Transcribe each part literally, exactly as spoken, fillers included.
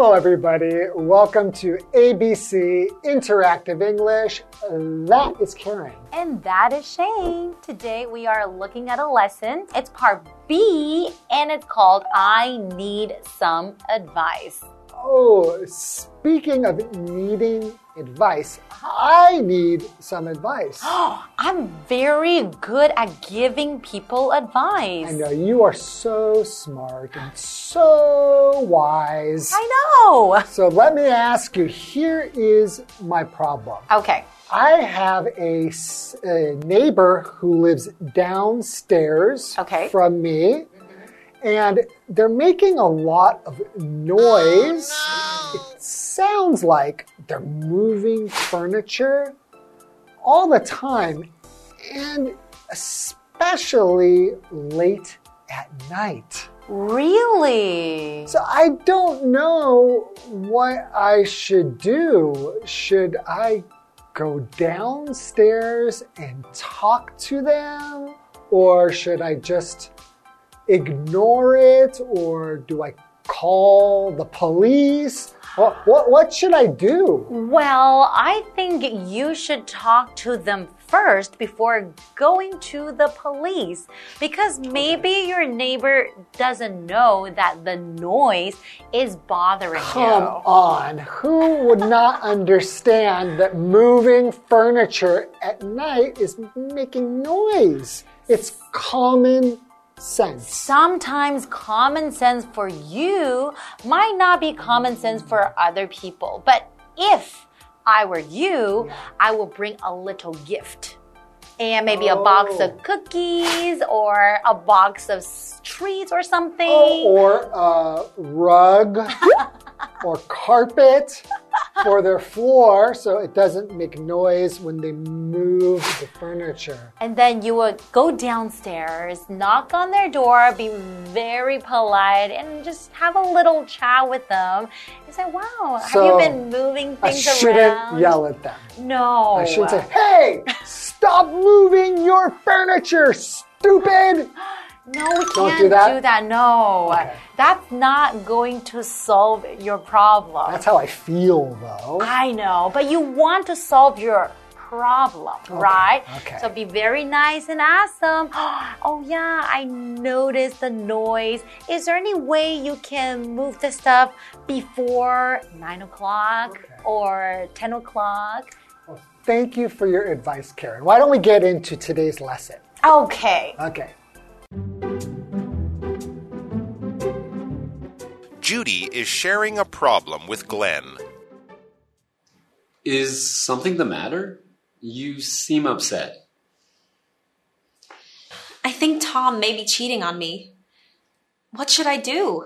Hello, everybody. Welcome to A B C Interactive English. That is Karen. And that is Shane. Today we are looking at a lesson. It's part B, and it's called I Need Some Advice. Oh, speaking of needing advice, I need some advice. Oh, I'm very good at giving people advice. I know, you are so smart and so wise. I know. So let me ask you, here is my problem. Okay. I have a, a neighbor who lives downstairs okay. from me. And they're making a lot of noise. Oh, no. It sounds like they're moving furniture all the time, and especially late at night. Really? So I don't know what I should do. Should I go downstairs and talk to them? Or should I just ignore it, or do I call the police? What, what, what should I do? Well, I think you should talk to them first before going to the police, because maybe okay. your neighbor doesn't know that the noise is bothering Come you. Come on, who would not understand that moving furniture at night is making noise? It's common sense. Sometimes common sense for you might not be common sense for other people. But if I were you, I would bring a little gift. And maybe oh. a box of cookies or a box of treats or something. Oh, or a rug or carpet for their floor so it doesn't make noise when they move the furniture. And then you would go downstairs, knock on their door, be very polite, and just have a little chat with them. You say, wow, so have you been moving things I shouldn't around? yell at them. No. I should say, hey, stop moving your furniture, stupid. No, we can't Don't do that? do that. No. Okay. That's not going to solve your problem. That's how I feel, though. I know, but you want to solve your problem, okay. right? Okay. So be very nice and ask them, oh yeah, I noticed the noise. Is there any way you can move the stuff before nine o'clock okay. or ten o'clock? Well, thank you for your advice, Karen. Why don't we get into today's lesson? Okay. Okay. Judy is sharing a problem with Glenn. Is something the matter? You seem upset. I think Tom may be cheating on me. What should I do?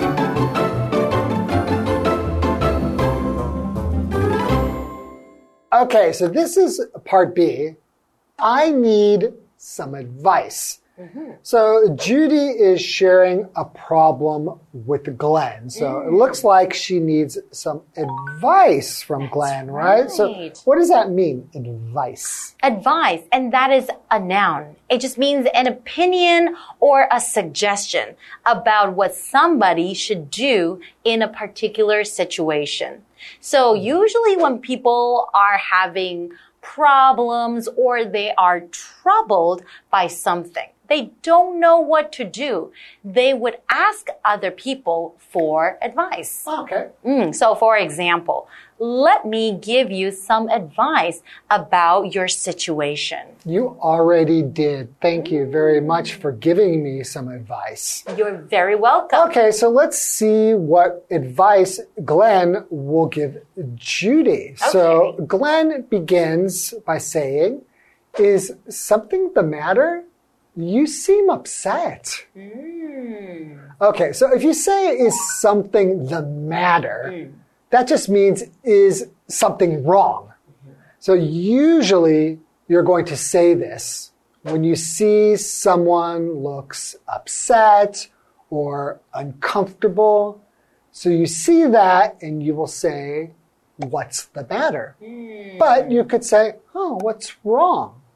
Okay, so this is part B. I need some advice. Mm-hmm. So Judy is sharing a problem with Glenn. So mm. it looks like she needs some advice from That's Glenn, right? right? So what does that mean, advice? Advice, and that is a noun. It just means an opinion or a suggestion about what somebody should do in a particular situation. So usually when people are having problems or they are troubled by something, they don't know what to do, they would ask other people for advice. Okay. Mm, so for example, let me give you some advice about your situation. You already did. Thank you very much for giving me some advice. You're very welcome. Okay, so let's see what advice Glenn will give Judy. Okay. So Glenn begins by saying, is something the matter? You seem upset. Mm. Okay, so if you say, is something the matter, Mm. that just means, is something wrong? Mm-hmm. So usually you're going to say this when you see someone looks upset or uncomfortable. So you see that and you will say, what's the matter? Mm. But you could say, oh, what's wrong?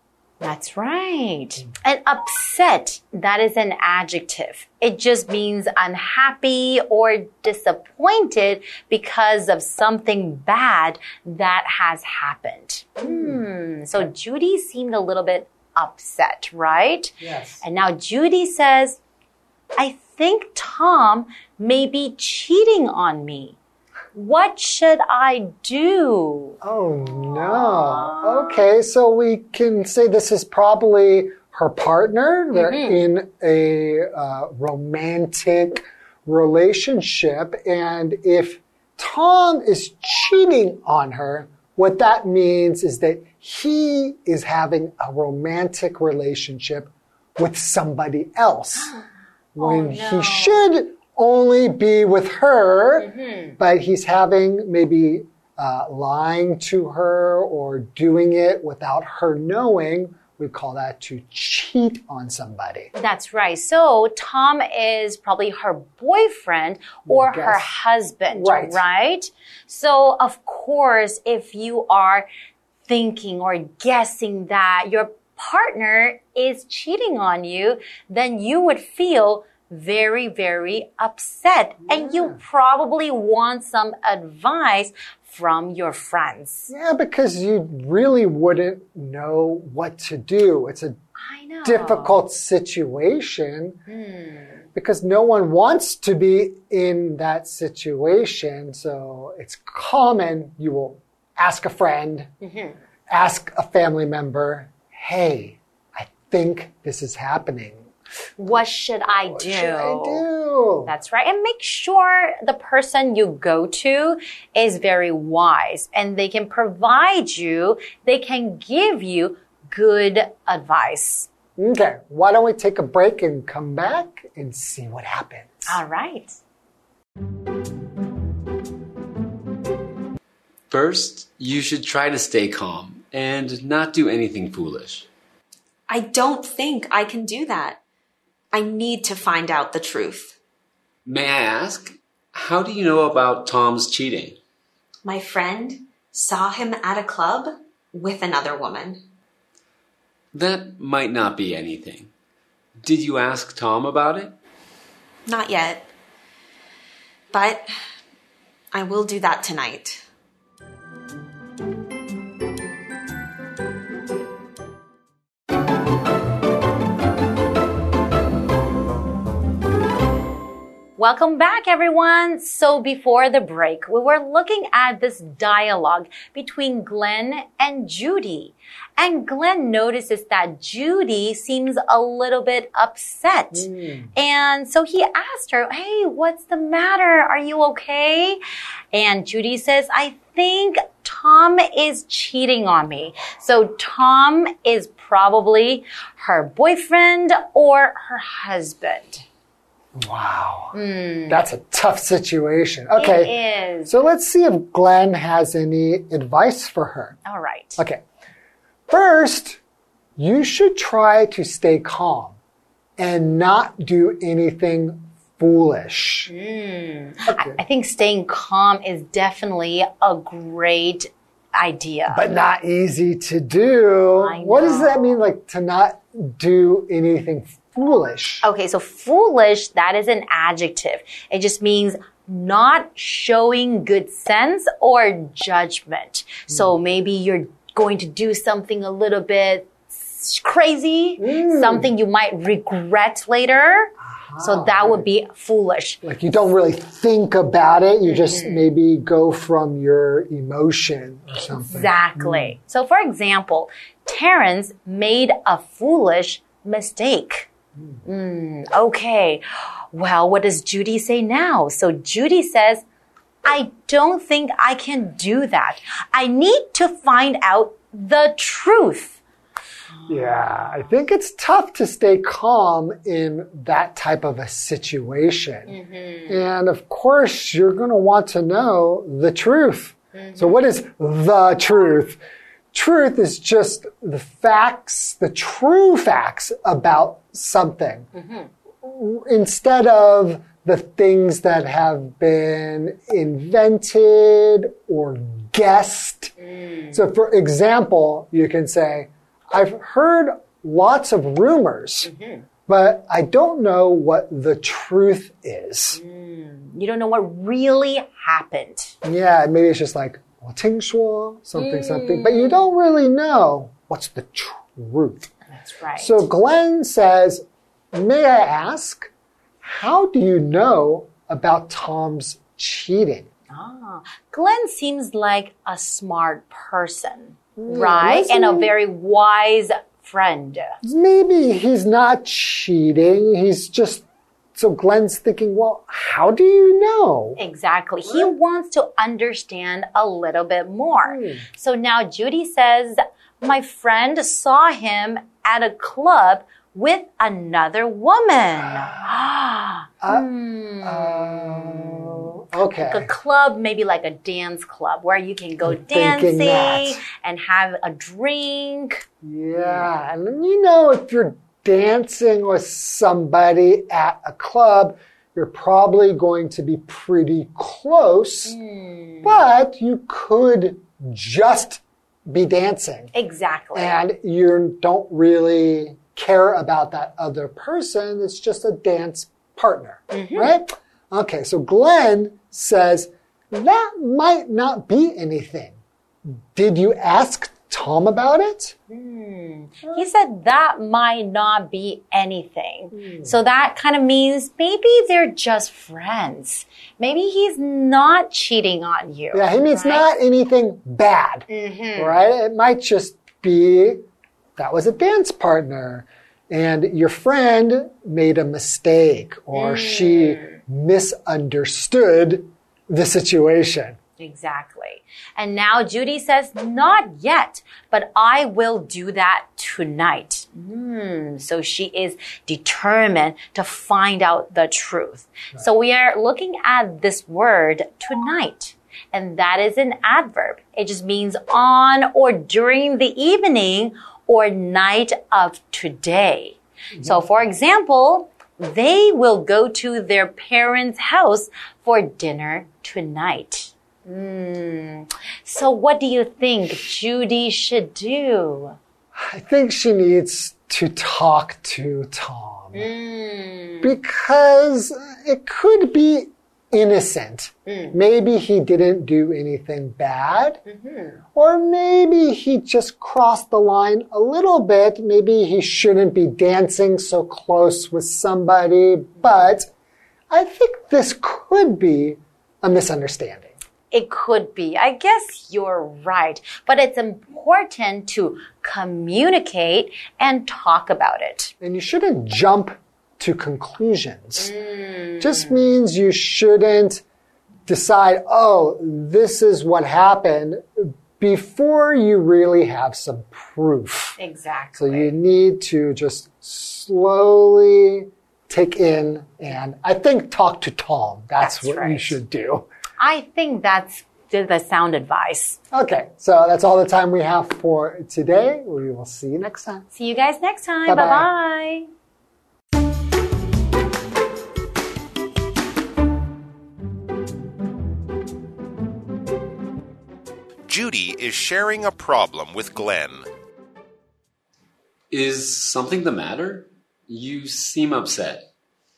That's right. And upset, that is an adjective. It just means unhappy or disappointed because of something bad that has happened. Hmm. So Judy seemed a little bit upset, right? Yes. And now Judy says, I think Tom may be cheating on me. What should I do? Oh, no. Okay, so we can say this is probably her partner. They're mm-hmm. in a uh, romantic relationship. And if Tom is cheating on her, what that means is that he is having a romantic relationship with somebody else. When oh, no. he should only be with her, mm-hmm. but he's having maybe uh, lying to her or doing it without her knowing. We call that to cheat on somebody. That's right. So Tom is probably her boyfriend or Guess. her husband, right. right? So of course, if you are thinking or guessing that your partner is cheating on you, then you would feel very, very upset. Yeah. And you probably want some advice from your friends. Yeah, because you really wouldn't know what to do. It's a I know. difficult situation Hmm. because no one wants to be in that situation. So it's common you will ask a friend, Mm-hmm. ask a family member, hey, I think this is happening. What should I What do? should I do? That's right. And make sure the person you go to is very wise and they can provide you, they can give you good advice. Okay, why don't we take a break and come back and see what happens? All right. First, you should try to stay calm and not do anything foolish. I don't think I can do that. I need to find out the truth. May I ask, how do you know about Tom's cheating? My friend saw him at a club with another woman. That might not be anything. Did you ask Tom about it? Not yet. But I will do that tonight. Welcome back, everyone. So before the break, we were looking at this dialogue between Glenn and Judy. And Glenn notices that Judy seems a little bit upset. Mm. And so he asked her, hey, what's the matter? Are you okay? And Judy says, I think Tom is cheating on me. So Tom is probably her boyfriend or her husband. Wow. Mm. That's a tough situation. Okay. It is. So let's see if Glenn has any advice for her. All right. Okay. First, you should try to stay calm and not do anything foolish. Mm. Okay. I, I think staying calm is definitely a great idea. But not easy to do. I know. What does that mean, like to not do anything foolish? Okay, so foolish, that is an adjective. It just means not showing good sense or judgment. Mm. So maybe you're going to do something a little bit crazy, mm. something you might regret later. Uh-huh. So that would be foolish. Like you don't really think about it. You just mm-hmm. maybe go from your emotion or something. Exactly. Mm. So for example, Terrence made a foolish mistake. Mm, okay. Well, what does Judy say now? So Judy says, I don't think I can do that. I need to find out the truth. Yeah, I think it's tough to stay calm in that type of a situation. Mm-hmm. And of course, you're going to want to know the truth. Mm-hmm. So what is the truth? Truth is just the facts, the true facts about something. Mm-hmm. Instead of the things that have been invented or guessed. Mm. So for example, you can say, I've heard lots of rumors, mm-hmm. but I don't know what the truth is. Mm, you don't know what really happened. Yeah, maybe it's just like, 我聽說 something, mm. something, but you don't really know what's the truth. That's right. So Glenn says, may I ask, how do you know about Tom's cheating? Ah, Glenn seems like a smart person, yeah, right? And a very wise friend. Maybe he's not cheating. He's just, so Glenn's thinking, well, how do you know? Exactly. What? He wants to understand a little bit more. Hmm. So now Judy says, my friend saw him at a club with another woman. uh, hmm. uh, okay. Like a club, maybe like a dance club where you can go I'm dancing and have a drink. Yeah. And you know, if you're dancing with somebody at a club, you're probably going to be pretty close, mm. but you could just be dancing. Exactly. And you don't really care about that other person. It's just a dance partner, mm-hmm. right? Okay, so Glenn says, that might not be anything. Did you ask Tom about it? Mm. He said that might not be anything. Mm. So that kind of means maybe they're just friends. Maybe he's not cheating on you. Yeah, he means right? not anything bad, mm-hmm. right? It might just be that was a dance partner and your friend made a mistake or mm. she misunderstood the situation. Exactly. And now Judy says, not yet, but I will do that tonight. Mm, so she is determined to find out the truth. Right. So we are looking at this word tonight. And that is an adverb. It just means on or during the evening or night of today. Mm-hmm. So for example, they will go to their parents' house for dinner tonight. Mm. So what do you think Judy should do? I think she needs to talk to Tom. Mm. Because it could be innocent. Mm. Maybe he didn't do anything bad. Mm-hmm. Or maybe he just crossed the line a little bit. Maybe he shouldn't be dancing so close with somebody. But I think this could be a misunderstanding. It could be. I guess you're right. But it's important to communicate and talk about it. And you shouldn't jump to conclusions. Mm. Just means you shouldn't decide, oh, this is what happened before you really have some proof. Exactly. So you need to just slowly take in and I think talk to Tom. That's, that's what right. you should do. I think that's the sound advice. Okay, so that's all the time we have for today. We will see you next time. See you guys next time. Bye-bye. Judy is sharing a problem with Glenn. Is something the matter? You seem upset.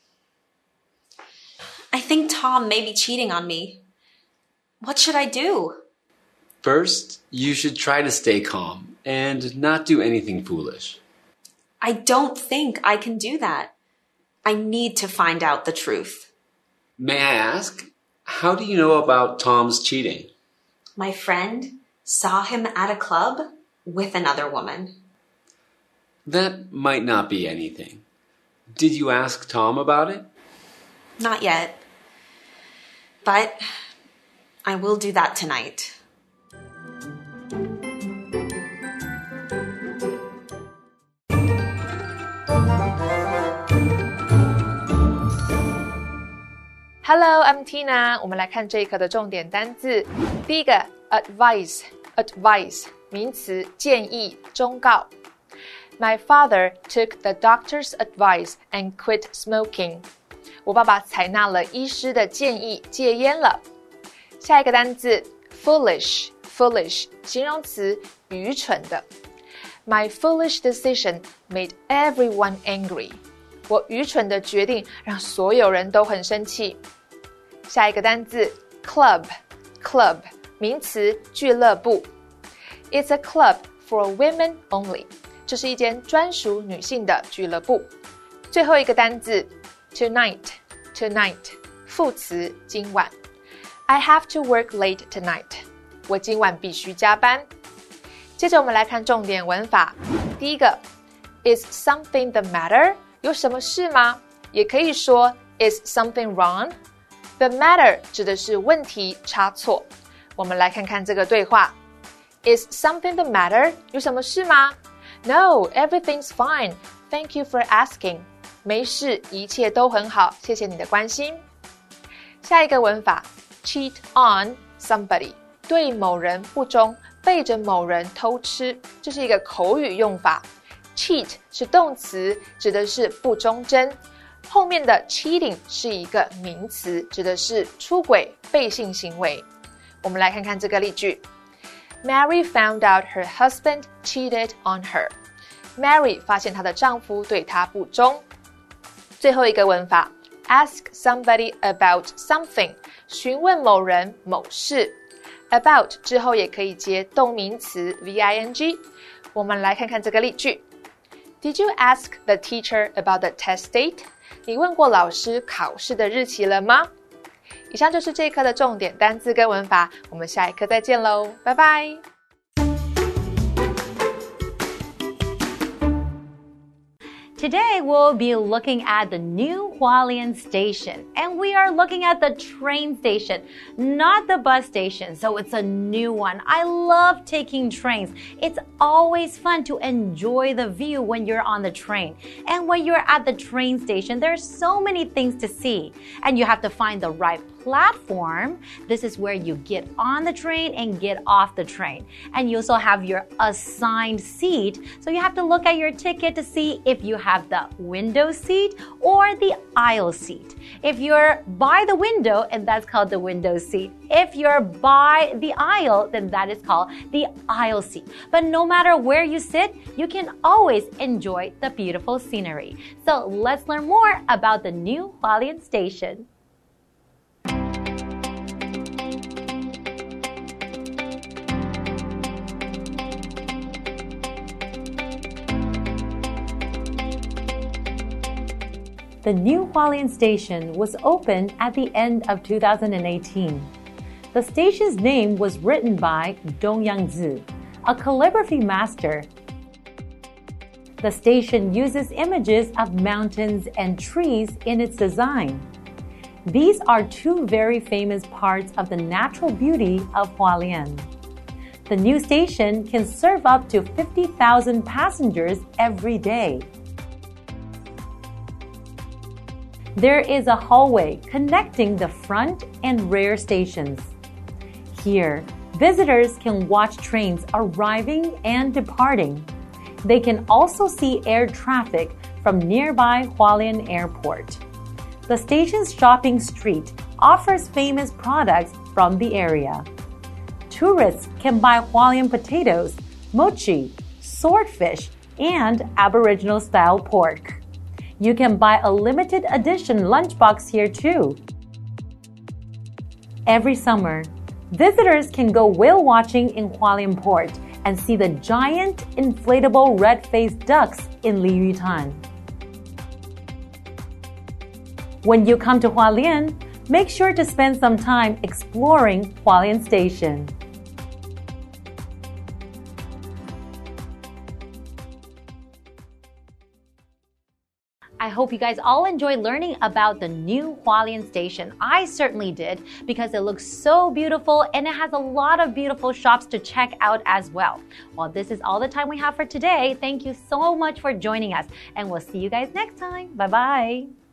I think Tom may be cheating on me. What should I do? First, you should try to stay calm and not do anything foolish. I don't think I can do that. I need to find out the truth. May I ask, how do you know about Tom's cheating? My friend saw him at a club with another woman. That might not be anything. Did you ask Tom about it? Not yet. But I will do that tonight. Hello, I'm Tina. 我們來看這一課的重點單字。第一個 advice, advice 名詞，建議、忠告。My father took the doctor's advice and quit smoking. 我爸爸採納了醫師的建議，戒菸了。下一個單字 foolish, foolish 形容詞，愚蠢的。 My foolish decision made everyone angry. 我愚蠢的決定讓所有人都很生氣。下一個單字 club club 名詞俱樂部。It's a club for women only. 這是一間專屬女性的俱樂部。最後一個單字 tonight tonight 副詞今晚。I have to work late tonight. 我今晚必須加班。接着我們來看重點文法。第一個 Is something the matter? 有什麼事嗎？也可以說 Is something wrong? The matter 指的是問題、差錯。我們來看看這個對話。Is something the matter? 有什麼事嗎？ No, everything's fine. Thank you for asking. 沒事，一切都很好，謝謝你的關心。下一個文法 cheat on somebody 對某人不忠，背着某人偷吃，這是一個口語用法。cheat 是動詞，指的是不忠貞，後面的 cheating 是一個名詞，指的是出軌、背信行為。我們來看看這個例句。Mary found out her husband cheated on her. Mary 發現她的丈夫對她不忠。最後一個文法 ask somebody about something 詢問某人某事。About 之後也可以接動名詞 V I N G。我們來看看這個例句。Did you ask the teacher about the test date? 你問過老師考試的日期了嗎？以上就是這一課的重點單字跟文法，我們下一課再見嘍，拜拜。 Today, we'll be looking at the new Hualien station. And we are looking at the train station, not the bus station. So it's a new one. I love taking trains. It's always fun to enjoy the view when you're on the train. And when you're at the train station, there's so many things to see. And you have to find the right platform. This is where you get on the train and get off the train. And you also have your assigned seat. So you have to look at your ticket to see if you have the window seat or the aisle seat. If you're by the window, and that's called the window seat. If you're by the aisle, then that is called the aisle seat. But no matter where you sit, you can always enjoy the beautiful scenery. So let's learn more about the new Hualien station. The new Hualien station was opened at the end of two thousand eighteen. The station's name was written by Dong Yangzi, a calligraphy master. The station uses images of mountains and trees in its design. These are two very famous parts of the natural beauty of Hualien. The new station can serve up to fifty thousand passengers every day. There is a hallway connecting the front and rear stations. Here, visitors can watch trains arriving and departing. They can also see air traffic from nearby Hualien Airport. The station's shopping street offers famous products from the area. Tourists can buy Hualien potatoes, mochi, swordfish, and Aboriginal-style pork. You can buy a limited edition lunchbox here too. Every summer, visitors can go whale watching in Hualien Port and see the giant inflatable red-faced ducks in Liyutan. When you come to Hualien, make sure to spend some time exploring Hualien Station. I hope you guys all enjoyed learning about the new Hualien station. I certainly did because it looks so beautiful and it has a lot of beautiful shops to check out as well. Well, this is all the time we have for today. Thank you so much for joining us and we'll see you guys next time. Bye-bye.